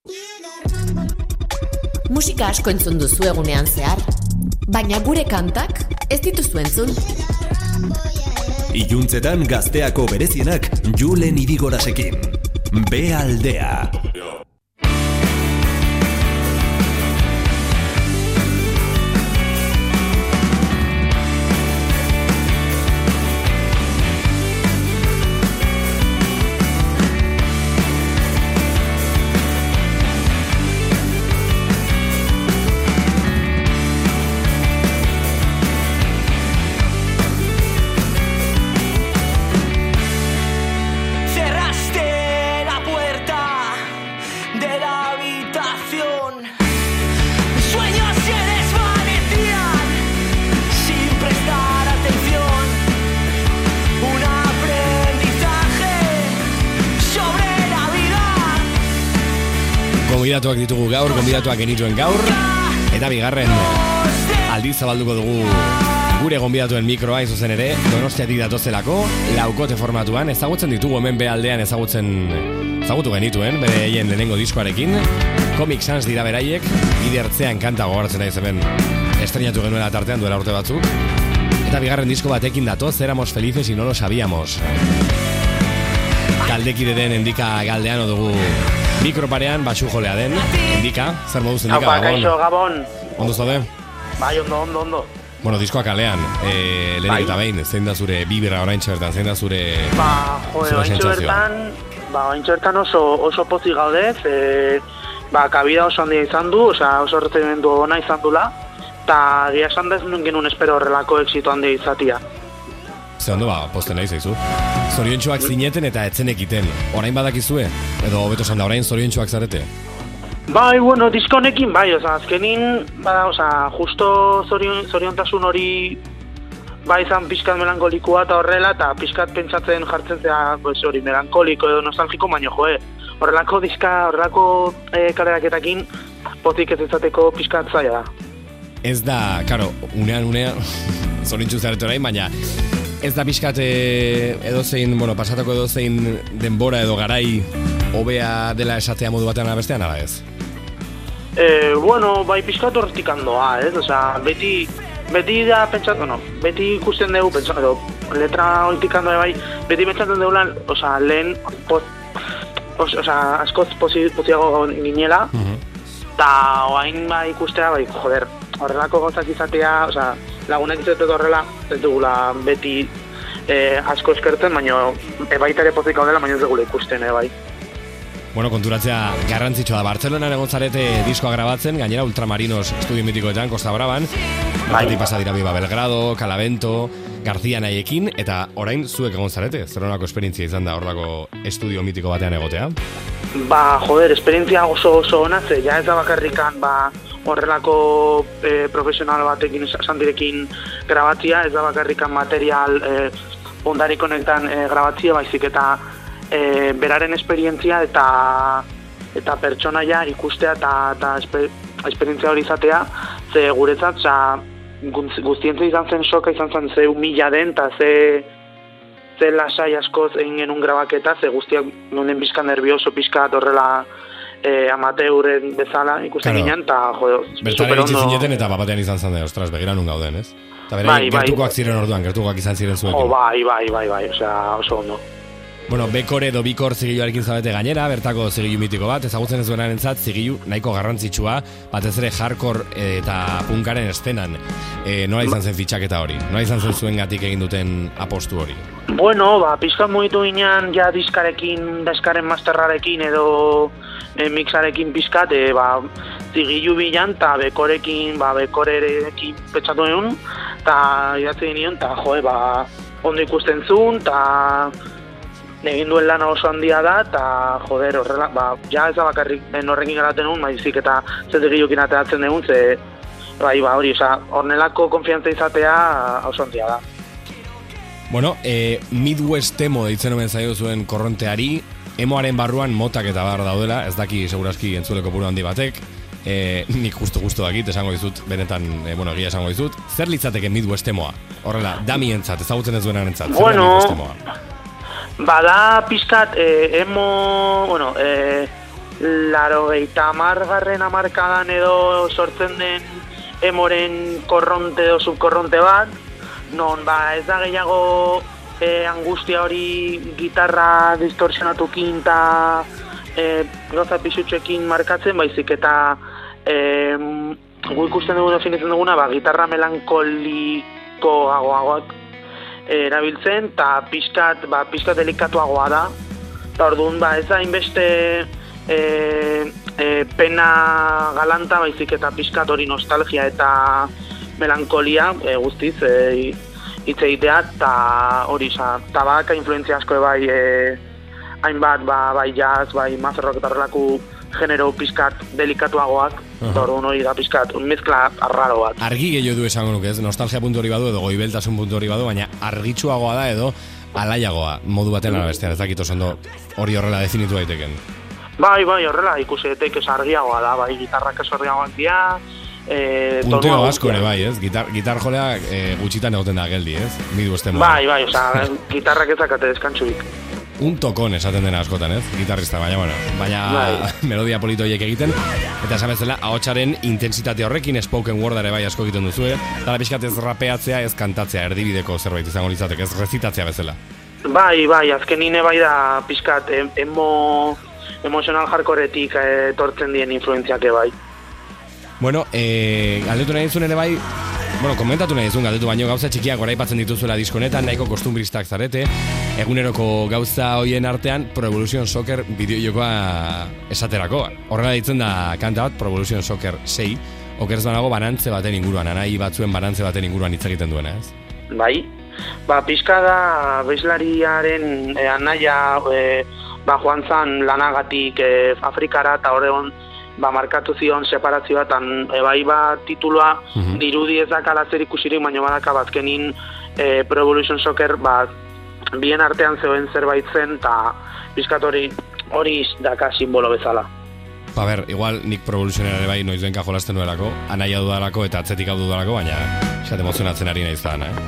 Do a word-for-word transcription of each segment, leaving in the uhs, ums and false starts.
Musika asko entzun duzu egunean zehar, baina gure kantak ez dituzu entzun. Iluntzetan gazteako berezienak Julen Irigorasekin. Be aldea. Gonbidatuak ditugu gaur, gonbidatuak genituen gaur, eta bigarren aldiz zabalduko dugu gure gonbidatuen mikroa izuzen ere, Donostiatik datozelako, laukote formatuan, ezagutzen ditugu hemen behaldean ezagutzen, ezagutu genituen, bere eien lehenengo diskoarekin, Comic Sans dira beraiek, idertzean kanta gogoratzen daiz hemen estrenatu genuela tartean duela urte batzuk, eta bigarren disko batekin datoz, éramos felices y no lo sabíamos. Taldekide den Endika galdean dugu mikroparean, batxu jolea den, Endika, zer moduz Endika, Gabon? Kaixo, Gabon. Ondo zaude? Bai, ondo, ondo, ondo. Bueno, diskoa kalean, e, lehenik eta behin, zein da zure bibira oraintxe bertan, zein da zure Ba, jode, oraintxe bertan, ba, oraintxe bertan oso, oso pozik gaudez, e, ba, kabida oso handia izan du, osea, oso errezimendu ona izan dula, eta gira esan dez nun genuen espero horrelako exito handia izatia. Ze ondo, ba, posten nahi zaizu. Zoriontsuak zineten eta etzen ekiten. Orain badakizue? Edo hobeto esan da, orain zoriontsuak zarete? Bai, bueno, disko honekin, bai, oza, azkenin, bada, oza, justo zorion, zoriontasun hori, bai, izan pixkat melankolikoa eta horrela, eta pixkat pentsatzen jartzen zea, pues, hori, melankoliko edo nostalgiko, baino, joe, horrelako diska, horrelako e, kaleraketakin, pozik ez izateko pixkat zaila da. Ez da, karo, unean, unean, zoriontsu zarete orain, baina, ez da pixkat edozein, bueno, pasatako edozein denbora edo garai hobea dela esatea modu batean abestean, ala ez? E, bueno, bai pixkat horretik handoa, ez? Osea, beti, beti da pentsatu, no, beti ikusten dugu, pentsatu, edo, letra horretik handoa bai, beti pentsatzen dugu lan, osea, lehen, poz, osea, askoz poziago ginela, eta uh-huh. oain bai ikustea, bai, joder, horrelako gauzak izatea, osea, lagunak izatetu horrela, ez dugula beti eh, asko eskertzen, baina e, baita ere pozik gaudela, baina ez dugula ikusten, eh, bai. Bueno, konturatzea garrantzitsua da. Bartzelonan egon zarete diskoa grabatzen, gainera Ultramarinos estudio mitikoetan, Costa Braban, bai. Pasa dira Biba Belgrado, Calavento, García Naiekin, eta orain zuek egon zarete, zer honako esperientzia izan da horrelako estudio mitiko batean egotea? Ba, joder, esperientzia oso oso ona, ze, ja ez da bakarrikan, ba, horrelako e, profesional batekin, sandirekin grabatzia, ez da bakarrikan material e, ondarik honetan e, grabatzia, baizik eta e, beraren esperientzia eta eta pertsonaia ikustea eta, eta esper, esperientzia hori izatea, ze guretzat, za, guztientzat izan zen soka, izan zen ze humila den, eta ze, ze lasai askoz egin genuen grabaketa, ze guztiak nonen pixka nervioso, pixka horrela Eh, amateuren bezala ikusten claro. Ginen, eta jode, bertara iritsi zineten eta bapatean izan zen, ostras, begira nun gauden, ez? Eta bere, bai, gertukoak bai. Ziren orduan, gertukoak izan ziren zuekin. Oh, bai, bai, bai, bai, osea, oso ondo. Bueno, Bekore edo Bikor zigiluarekin zabete gainera, bertako zigilu mitiko bat, ezagutzen ez duenaren entzat, zigilu nahiko garrantzitsua, batez ere hardcore eta punkaren estenan. E, nola izan zen fitxaketa hori? Nola izan zen zuen gatik egin duten apostu hori? Bueno, ba, pizkat mugitu ginen, ja diskarekin, diskaren masterrarekin edo e, mixarekin pizkat, e, ba, zigilu bilan, eta Bekorekin, ba, Bekorerekin pentsatu nion, eta idatzi nion, eta joe, ba, ondo ikusten zuen, eta egin duen lana oso handia da, eta joder, horrela, ba, ja ez da bakarrik horrekin garaten egun, maizik eta zetegiokin ateratzen egun, ze, bai, ba, hori, oza, hornelako konfiantza izatea oso handia da. Bueno, e, Midwest emo deitzen omen zaio zuen korronteari, emoaren barruan motak eta bar daudela, ez daki seguraski entzuleko puro handi batek, e, nik justu-justu dakit, esango dizut, benetan, e, bueno, egia esango dizut, zer litzateke Midwest emoa? Horrela, damientzat, ezagutzen ez duenaren entzat, zer bueno, da Midwest emoa? Bada pizkat, eh, emo, bueno, eh, laurogeita hamargarren hamarkadan edo sortzen den emoren korronte edo subkorronte bat, non ba ez da gehiago e, angustia hori gitarra distorsionatukin eta e, gauza pisutxekin markatzen, baizik eta e, gu ikusten dugu definitzen duguna, ba, gitarra melankoliko agoagoak e, erabiltzen, eta pixkat, ba, pixkat delikatuagoa da. Eta orduan, ba, ez da inbeste e, e, pena galanta, baizik eta pixkat hori nostalgia eta melankolia e, guztiz e, hitz egitea, eta hori, eta baka influentzia asko bai e, hainbat, ba, bai jazz, bai mazerrok eta horrelako genero pixkat delikatuagoak, eta uh-huh. Orduan hori da pixkat, un mezkla arraro bat. Argi gehiago du esango nuke, ez? Nostalgia puntu hori badu edo goibeltasun puntu hori badu, baina argitsuagoa da edo alaiagoa, modu batean ala bestean, ez dakit oso ondo hori horrela definitu daiteken. Bai, bai, horrela ikusi daiteke argiagoa da, bai, gitarrak ez argiagoak dira, e, punteo asko ere bai, ez? Gitar, gitar jolea e, gutxitan egoten da geldi, ez? Midu esten modu. Bai, bai, oza, gitarrak ezakate deskantzuik. Un tokon esaten dena askotan, ez? Gitarrista, baina, bueno, baina bai. Melodia politoiek egiten, eta esan bezala, ahotsaren intensitate horrekin spoken word ere bai asko egiten duzu, eh? Eta pixkat ez rapeatzea, ez kantatzea, erdibideko zerbait izango litzatek, ez rezitatzea bezala. Bai, bai, azkenine bai da pixkat emo, emotional hardcoretik etortzen dien influentziake bai. Bueno, eh, galdetu nahi dizun ere bai, bueno, komentatu nahi dizun galdetu baino gauza txikiak goraipatzen dituzuela diskonetan, nahiko kostumbristak zarete, eguneroko gauza hoien artean Pro Evolution Soccer bideojokoa esaterako. Horrela ditzen da kanta bat, Pro Evolution Soccer sei, okerz banago banantze baten inguruan, anai batzuen banantze baten inguruan hitz egiten duena, ez? Bai, ba, pixka da bezlariaren e, anaia e, ba, joan zan lanagatik e, Afrikara eta horregon ba, markatu zion separazioa, eta e, bai ba tituloa uh-huh. dirudi ez dakala zer ikusirik, baina badaka bazkenin e, Pro Evolution Soccer ba, bien artean zegoen zerbait zen, eta pixkat hori hori daka simbolo bezala. Ba ber, igual nik Pro Evolution ere bai noiz benka jolasten nuelako, anaia dudalako eta atzetik hau dudalako, baina xat emozionatzen ari nahi zan, eh?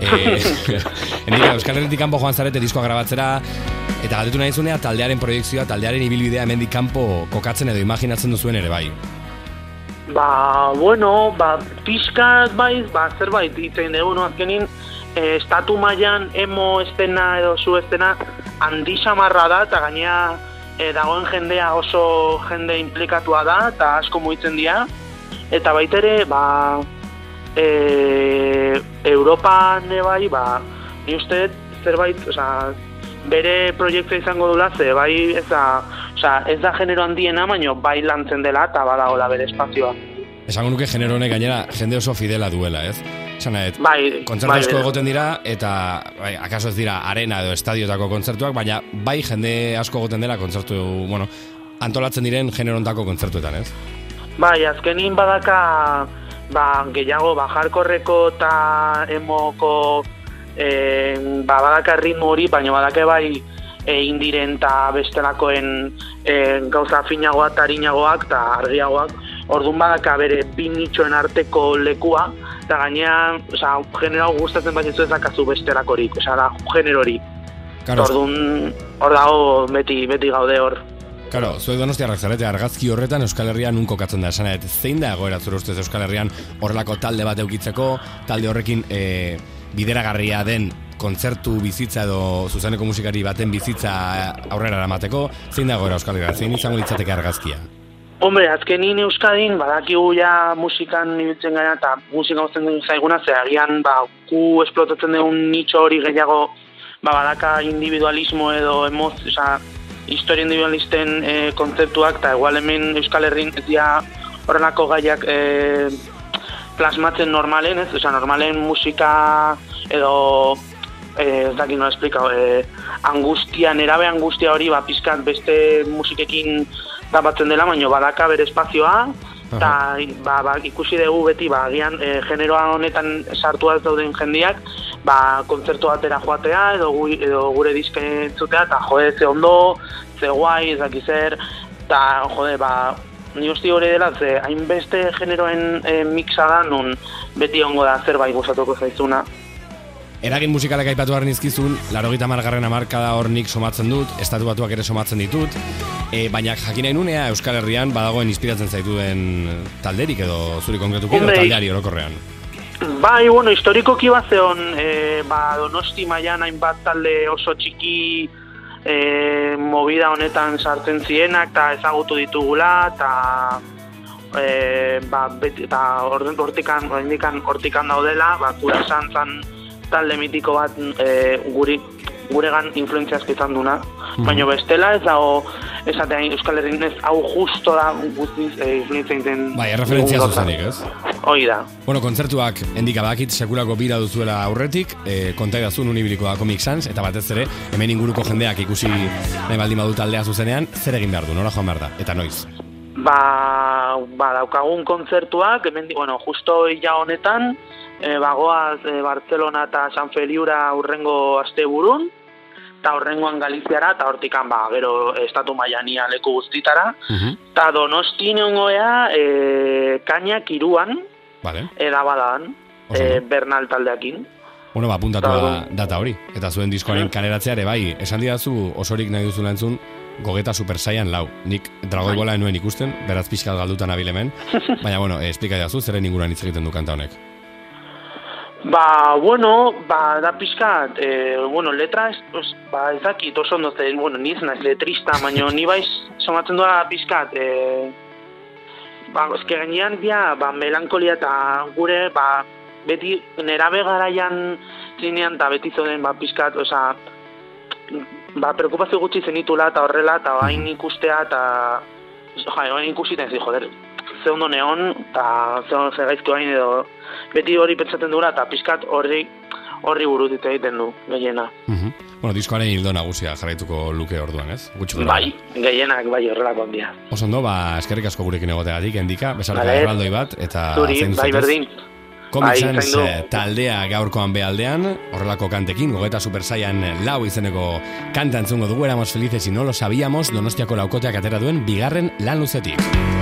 E, Endika, Euskal Herritik kanpo joan zarete diskoa grabatzera, eta galdetu nahi zunea taldearen proiektzioa, taldearen ibilbidea hemendik kanpo kokatzen edo imaginatzen duzuen ere bai. Ba, bueno, ba, pixkat bai, ba, zerbait itzen dugu, no, azkenin, e, estatu mailan emo estena edo zu estena handi samarra da, eta gainea e, dagoen jendea oso jende implikatua da, eta asko mugitzen dira, eta baitere, ba, e, Europan bai, ba, ni uste zerbait, oza, bere proiektua izango dula, ze bai, ez da, oza, ez da genero handiena, baino bai lantzen dela, eta badagoela bere espazioa. Esango nuke genero honek gainera jende oso fidela duela, ez? Esan nahet, bai, kontzertu bai, asko bai. egoten dira, eta bai, akaso ez dira arena edo estadiotako kontzertuak, baina bai jende asko egoten dela kontzertu, bueno, antolatzen diren generontako kontzertuetan, ez? Bai, azkenin badaka, ba, gehiago, ba, hardcoreko eta emoko, e, ba, badaka ritmo hori, baina badake bai e, indiren eta bestelakoen e, gauza finagoak eta harinagoak eta argiagoak, orduan badaka bere bi nitxoen arteko lekua, eta gainean, oza, genero gustatzen bat ez dakazu bestelakorik, oza, da, genero hori. Claro. Orduan, hor dago beti, beti gaude hor. Claro, zuek donostiarrak zarete, argazki horretan Euskal Herrian nun kokatzen da, esan zein da egoera zure ustez Euskal Herrian horrelako talde bat eukitzeko, talde horrekin e, bideragarria den kontzertu bizitza edo zuzeneko musikari baten bizitza aurrera eramateko, zein da egoera Euskal Herrian, zein izango litzateke argazkia? Hombre, azkenin Euskadin, badakigu ja musikan ibiltzen gara eta musika gozten dugu zaiguna, ze agian ba, gu esplotatzen dugun nitxo hori gehiago ba, badaka individualismo edo emoz, oza, historia individualisten e, kontzeptuak, eta igual hemen Euskal Herrin ez dira horrenako gaiak e, plasmatzen normalen, ez? Oza, normalen musika edo e, ez dakit nola esplika, e, angustia, nerabe angustia hori ba, pizkat beste musikekin tapatzen dela, baina badaka bere espazioa, eta ba, ba, ikusi dugu beti, ba, agian e, generoa honetan sartua ez dauden jendiak, ba, kontzertu batera joatea, edo, gu, edo gure diske entzutea, eta jode, ze ondo, ze guai, ez dakiz zer, eta jode, ba, ni uste hori dela, ze hainbeste generoen e, mixa da, nun beti ongo da zerbait gustatuko zaizuna. Eragin musikalak aipatu harren izkizun, laurogeita hamargarren hamarkada hor nik somatzen dut, estatu batuak ere somatzen ditut, e, baina jakinain unea Euskal Herrian badagoen inspiratzen zaituen talderik edo zuri konkretuki edo taldeari orokorrean. Bai, bueno, historikoki bat zeon, e, ba, Donosti mailan hainbat talde oso txiki e, movida honetan sartzen zienak, eta ezagutu ditugula, eta e, ba, beti, eta hortikan, hortikan, hortikan daudela, ba, kura esan zan talde mitiko bat e, guri, guregan influentzia izan duna, mm. baina bestela ez dago esatean Euskal Herrin ez hau justo da guztiz e, influentzia inten... Bai, erreferentzia zuzenik, ez? Hoi da. Bueno, kontzertuak endika bakit sekulako bira duzuela aurretik, e, konta idazun unibiliko da Comic Sans, eta batez ere, hemen inguruko jendeak ikusi nahi baldin badu taldea zuzenean, zer egin behar du, nora joan behar da, eta noiz? Ba, ba daukagun kontzertuak, hemen, bueno, justo illa honetan, e, bagoaz e, Barcelona eta San Feliura urrengo asteburun, eta horrengoan Galiziara, eta hortikan, ba, gero estatu maiania leku guztitara, eta uh-huh. Donosti neongoea e, Kainak iruan, vale. Eda badan, e, Bernal taldeakin. Bueno, ba, puntatu da, data hori, eta zuen diskoaren kaleratzeare, bai, esan didazu osorik nahi duzu entzun, Gogeta Super Saiyan lau. Nik Dragoi Bola enuen ikusten, beraz pixkat galdutan abilemen, baina, bueno, esplika didazu, zeren inguruan hitz egiten du kanta honek. Ba, bueno, ba, da pixkat, e, bueno, letra, ez, ba, ez dakit oso ondo zen, bueno, niz naiz letrista, baina ni baiz somatzen doa pixkat, e, ba, ezke gainean dia, ba, melankolia eta gure, ba, beti nerabe garaian zinean, eta beti zoden, ba, pixkat, oza, ba, preokupazio gutxi zenitula, eta horrela, eta bain ikustea, eta, ja, bain ikusiten zi, joder, ze ondo neon, eta ze ondo ze gaizki bain edo, beti hori pentsatzen dura, eta pixkat horri, horri buruzit egiten du, gehiena. Uh-huh. Bueno, diskoaren hildo nagusia jarraituko luke orduan, ez? Gutxu bai, gehienak, bai, horrelako handia. Oso ondo, ba, eskerrik asko gurekin egotegatik, endika, besarka erraldoi bat, eta... Zuri, bai, berdin. Comic Sans taldea gaurkoan behaldean, horrelako kantekin, Gogeta Super Saiyan lau izeneko kanta entzungo dugu, éramos felices y no lo sabíamos, Donostiako laukoteak atera duen bigarren lan luzetik.